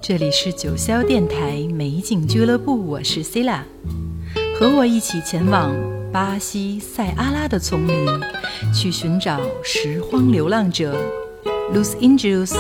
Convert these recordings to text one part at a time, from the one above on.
这里是九霄电台美景俱乐部，我是 Sila， 和我一起前往巴西塞阿拉的丛林，去寻找拾荒流浪者 Los Índios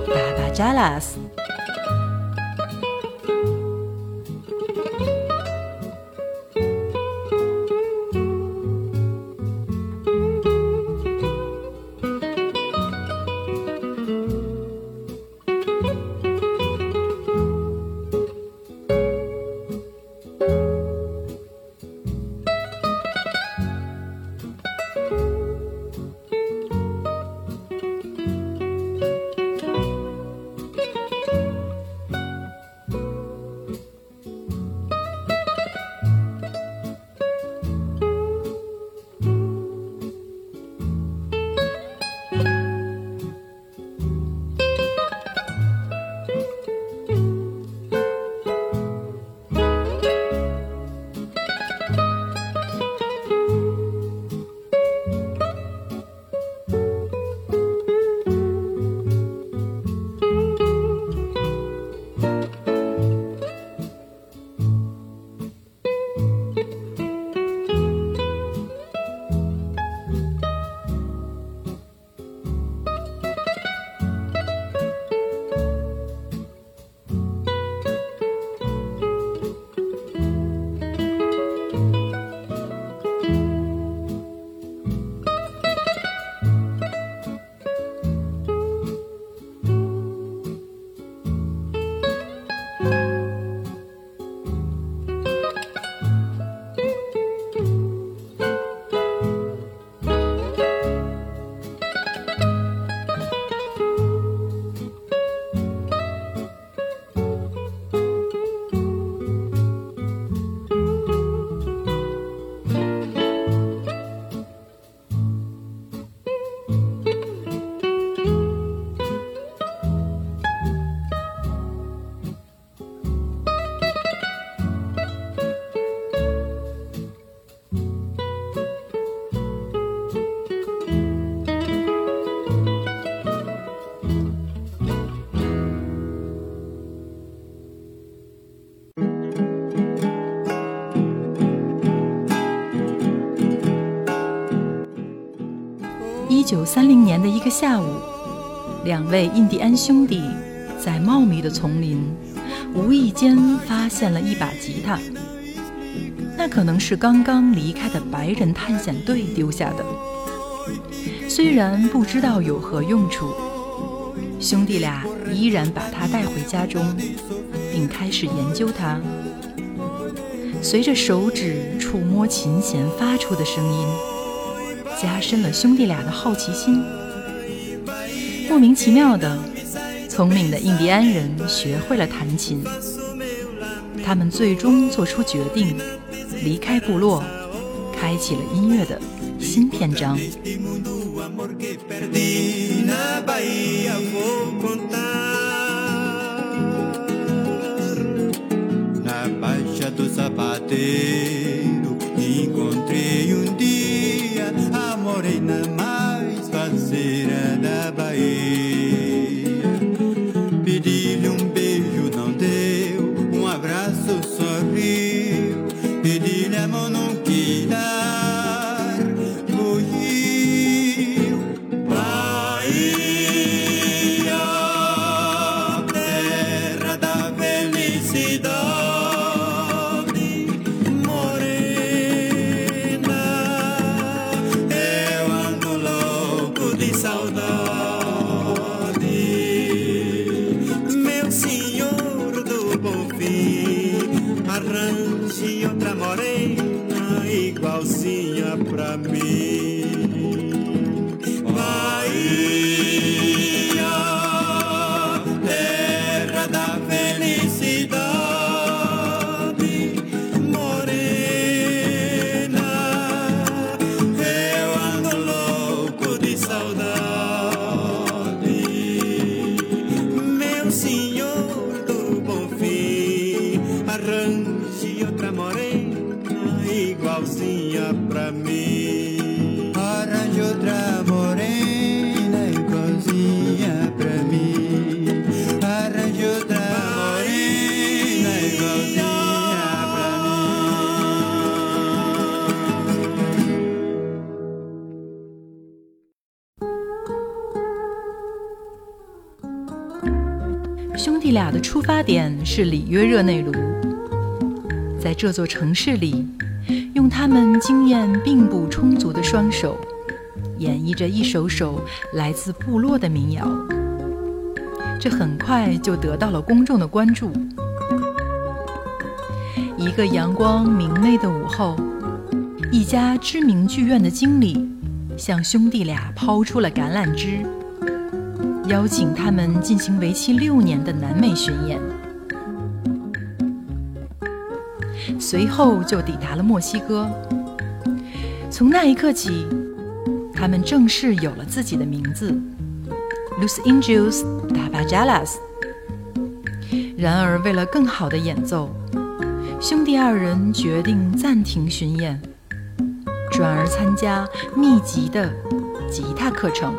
Tabajalas。1930年的一个下午，两位印第安兄弟在茂密的丛林无意间发现了一把吉他，那可能是刚刚离开的白人探险队丢下的。虽然不知道有何用处，兄弟俩依然把它带回家中，并开始研究它。随着手指触摸琴弦发出的声音，加深了兄弟俩的好奇心。莫名其妙的，聪明的印第安人学会了弹琴。他们最终做出决定，离开部落，开启了音乐的新篇章。 A morena mais faceira da Bahia. Pedi-lhe beijo, não deu, abraço, sorriu. Pedi-lhe a mão, não quis dar, fugiu. Bahia, terra da felicidade. Arranje outra morena igualzinha pra mim. Bahia, terra da felicidade, morena, eu ando louco de saudade. 兄弟俩的出发点是里约热内卢，在这座城市里，用他们经验并不充足的双手，演绎着一首首来自部落的民谣。这很快就得到了公众的关注。一个阳光明媚的午后，一家知名剧院的经理向兄弟俩抛出了橄榄枝，邀请他们进行为期6年的南美巡演。随后就抵达了墨西哥。从那一刻起，他们正式有了自己的名字 Los Indios Tapajalas。 然而为了更好的演奏，兄弟二人决定暂停巡演，转而参加密集的吉他课程。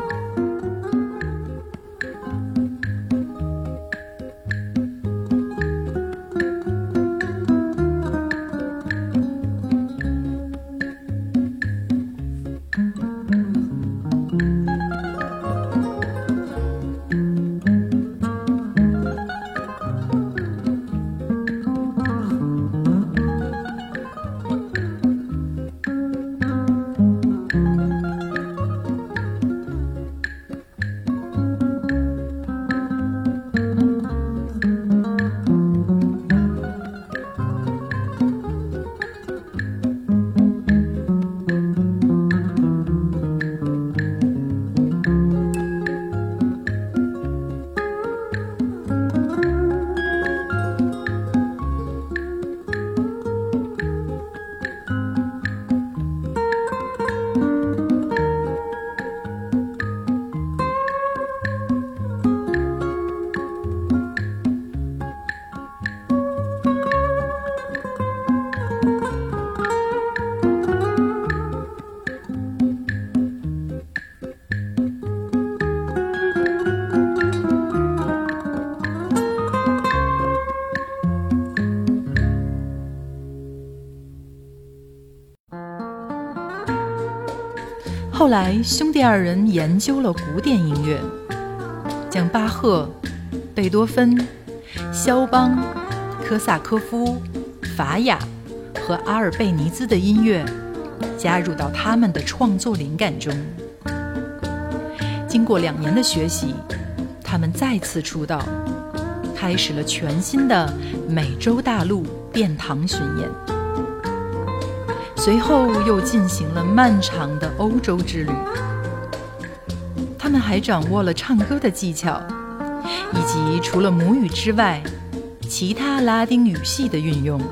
后来兄弟二人研究了古典音乐，将巴赫、贝多芬、肖邦、科萨科夫、法雅和阿尔贝尼兹的音乐加入到他们的创作灵感中。经过2年的学习，他们再次出道，开始了全新的美洲大陆殿堂巡演。随后又进行了漫长的欧洲之旅。他们还掌握了唱歌的技巧，以及除了母语之外，其他拉丁语系的运用。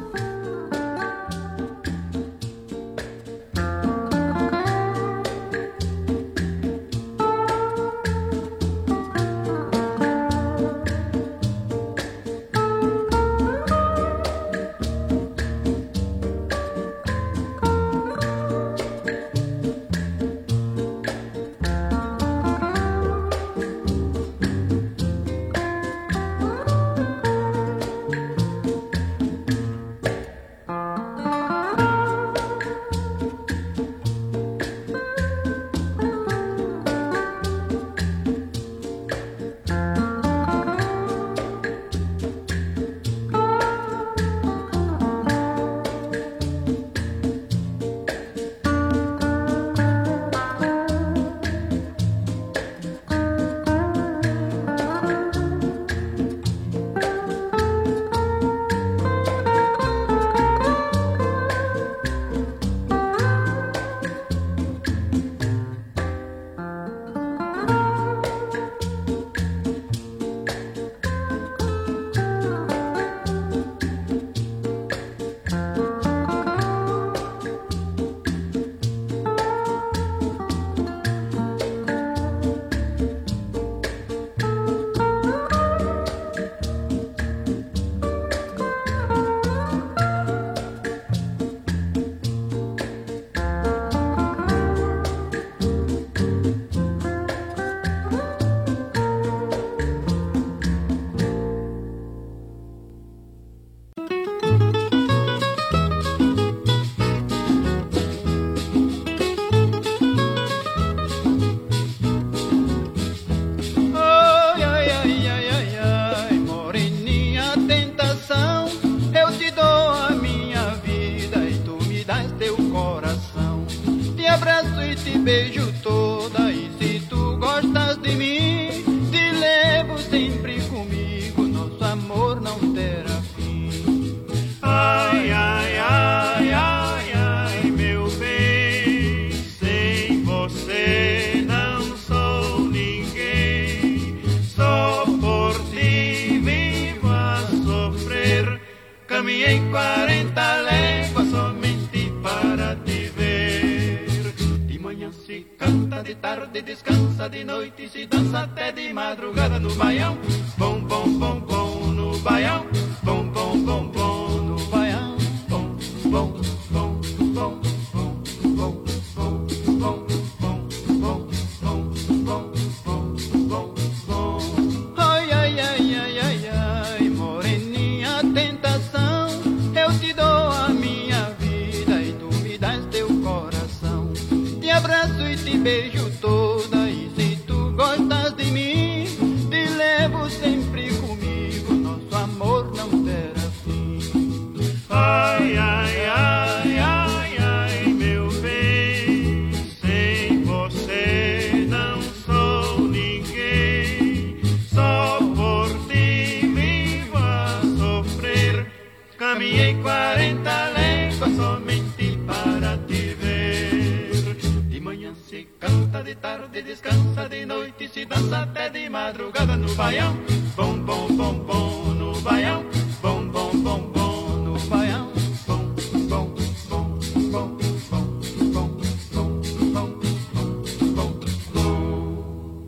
beijo toda. E se tu gostas de mim, te levo sempre comigo. Nosso amor não terá fim. Ai, ai, ai, ai, ai, meu bem, sem você não sou ninguém. Só por ti vivo a sofrer. Caminhei 40 léguas somente para te ver. De manhã se canta, de tarde descansa, de noite se dança até de madrugada no baião. Bom, bom, bom, bom no baião. Bom, bom, bom, bom no baião. Bom, bom, bom, bom, bom, bom, bom, bom, bom, bom, bom, bom, bom, bom. Ai, ai, ai, ai, ai, ai, moreninha tentação. Eu te dou a minha vida e tu me dás teu coração. Te abraço e te beijo toda. E se tu gostas de mim, te levo sempre comigo. Nosso amor não terá fim. Ai, ai, ai, ai, ai, meu bem, sem você não sou ninguém. Só por ti vivo a sofrer. Caminhei 40 léguas somente para te ver. De manhã se canta, de tarde descansa, de noite se dança até de madrugada no baião. Bom, bom, bom, bom no baião. Bom, bom, bom, bom no baião. Bom, bom, bom, bom, bom, bom, bom, bom, bom, bom.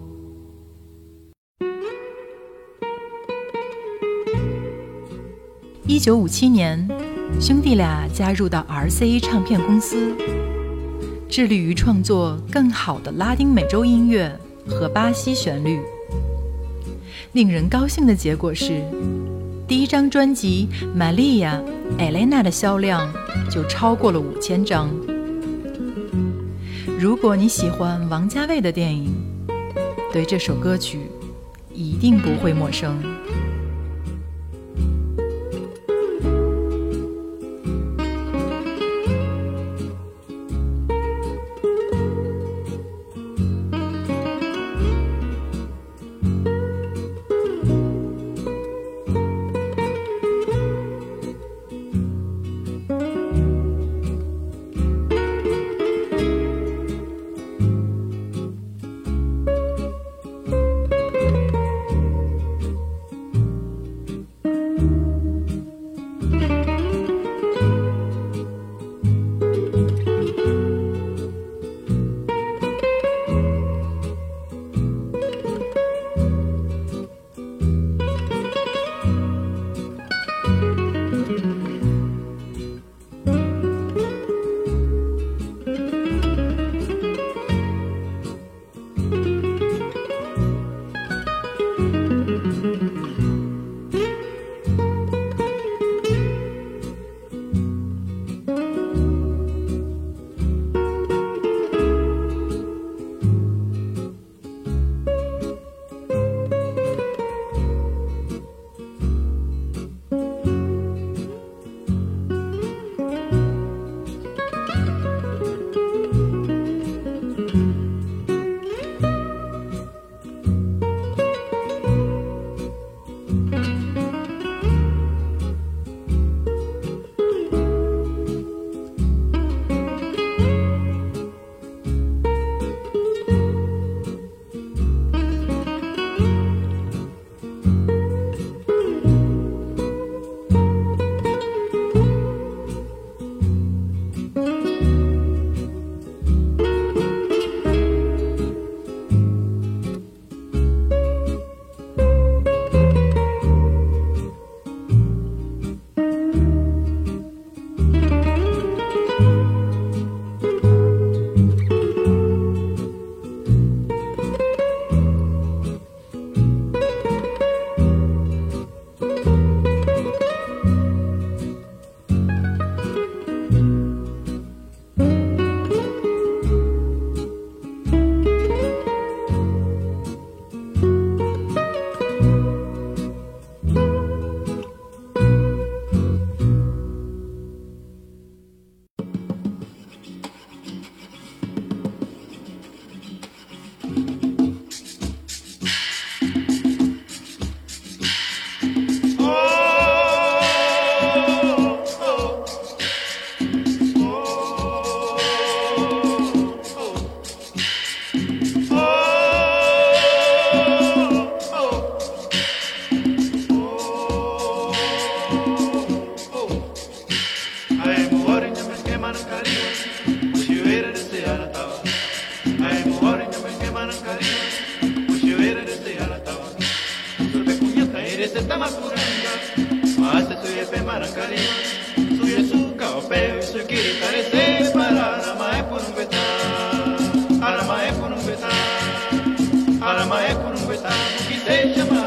1957年，兄弟俩加入到 RCA 唱片公司，致力于创作更好的拉丁美洲音乐和巴西旋律。令人高兴的结果是，第一张专辑《Maria Elena》的销量就超过了5000张。如果你喜欢王家卫的电影，对这首歌曲一定不会陌生。 se tamacuranga, mas se suye pe marancaria, suye su caopeo, su quiritarese, para arama por un betá, arama por un betá, arama por un betá, que se chama,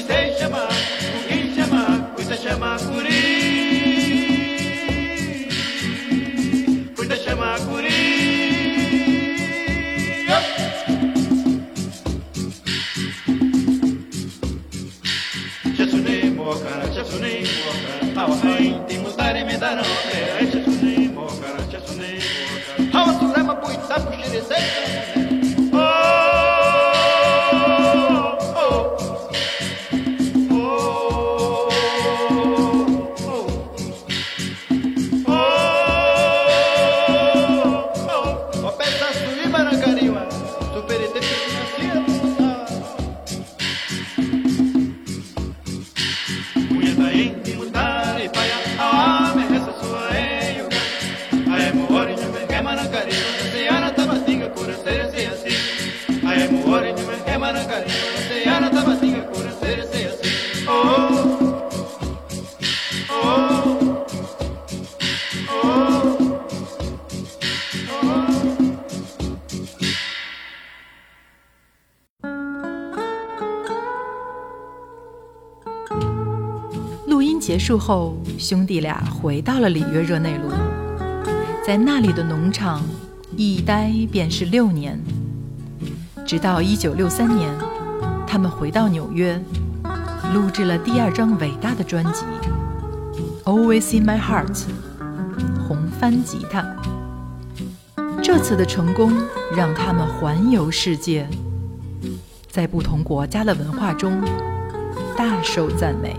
cuida chama curi, cuida chama curi. 录音结束后，兄弟俩回到了里约热内卢，在那里的农场一待便是6年，直到1963年，他们回到纽约，录制了第2张伟大的专辑《Always in My Heart》红帆吉他。这次的成功让他们环游世界，在不同国家的文化中大受赞美。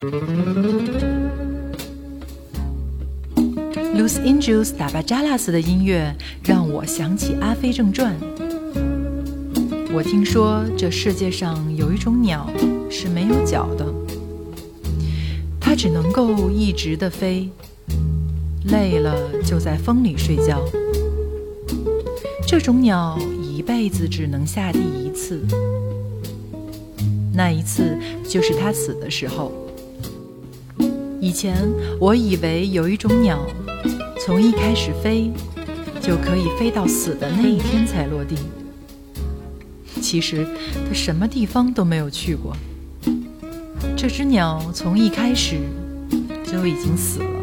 Los Angeles Tabajalas 的音乐让我想起《阿飞正传》。我听说这世界上有一种鸟是没有脚的，它只能够一直地飞，累了就在风里睡觉。这种鸟一辈子只能下地一次，那一次就是它死的时候。以前我以为有一种鸟从一开始飞就可以飞到死的那一天才落地，其实它什么地方都没有去过。这只鸟从一开始就已经死了。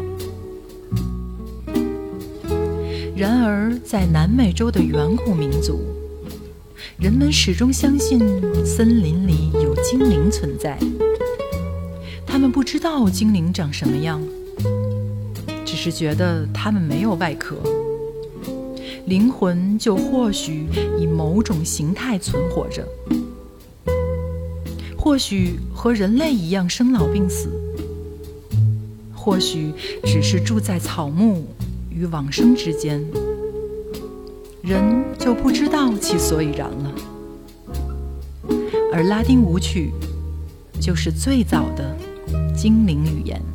然而在南美洲的远古民族，人们始终相信森林里有精灵存在。他们不知道精灵长什么样，只是觉得它们没有外壳，灵魂就或许以某种形态存活着，或许和人类一样生老病死，或许只是住在草木与往生之间，人就不知道其所以然了。而拉丁舞曲就是最早的精灵语言。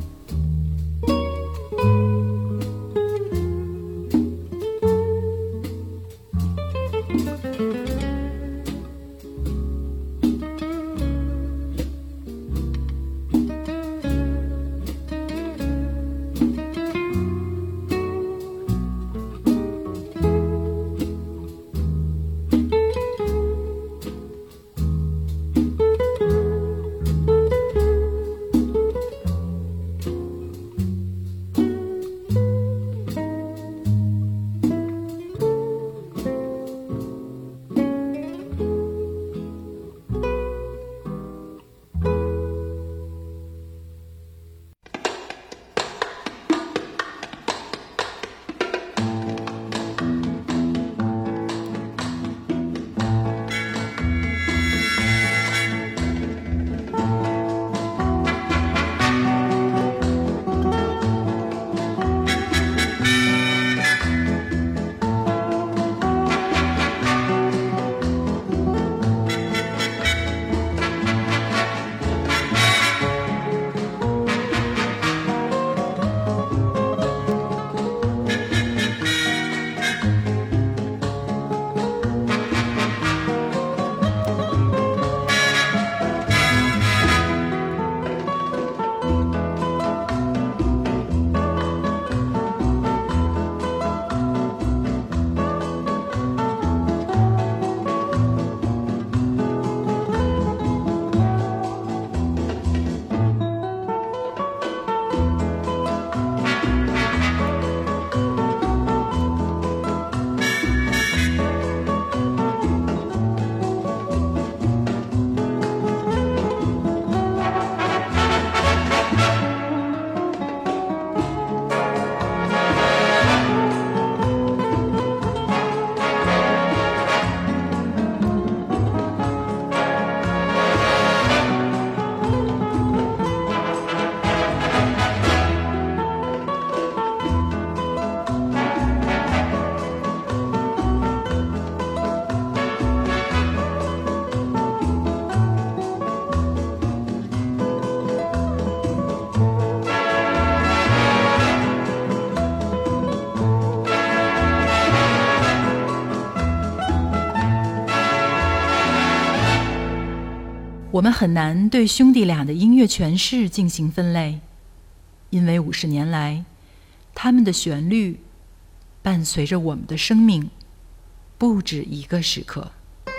我们很难对兄弟俩的音乐诠释进行分类，因为50年来，他们的旋律伴随着我们的生命不止一个时刻。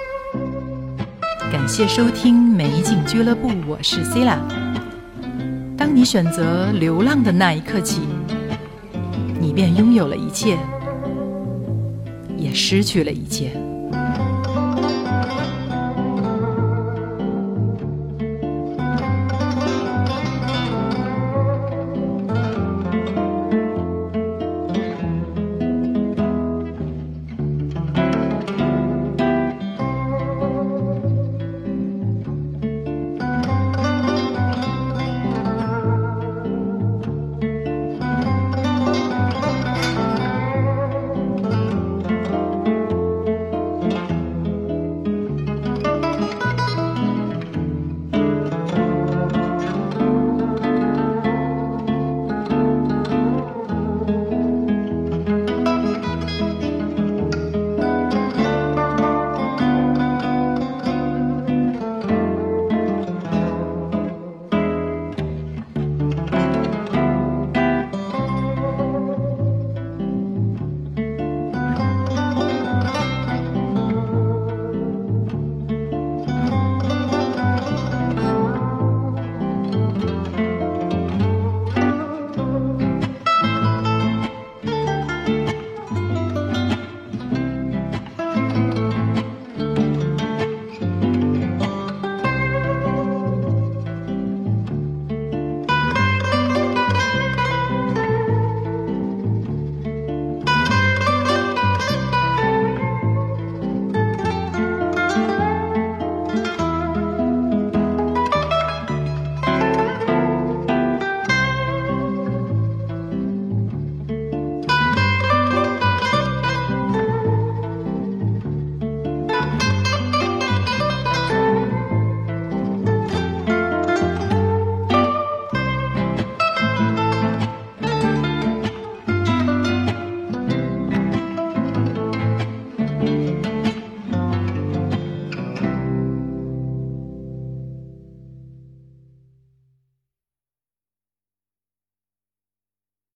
感谢收听美景俱乐部，我是 Sila。当你选择流浪的那一刻起，你便拥有了一切，也失去了一切。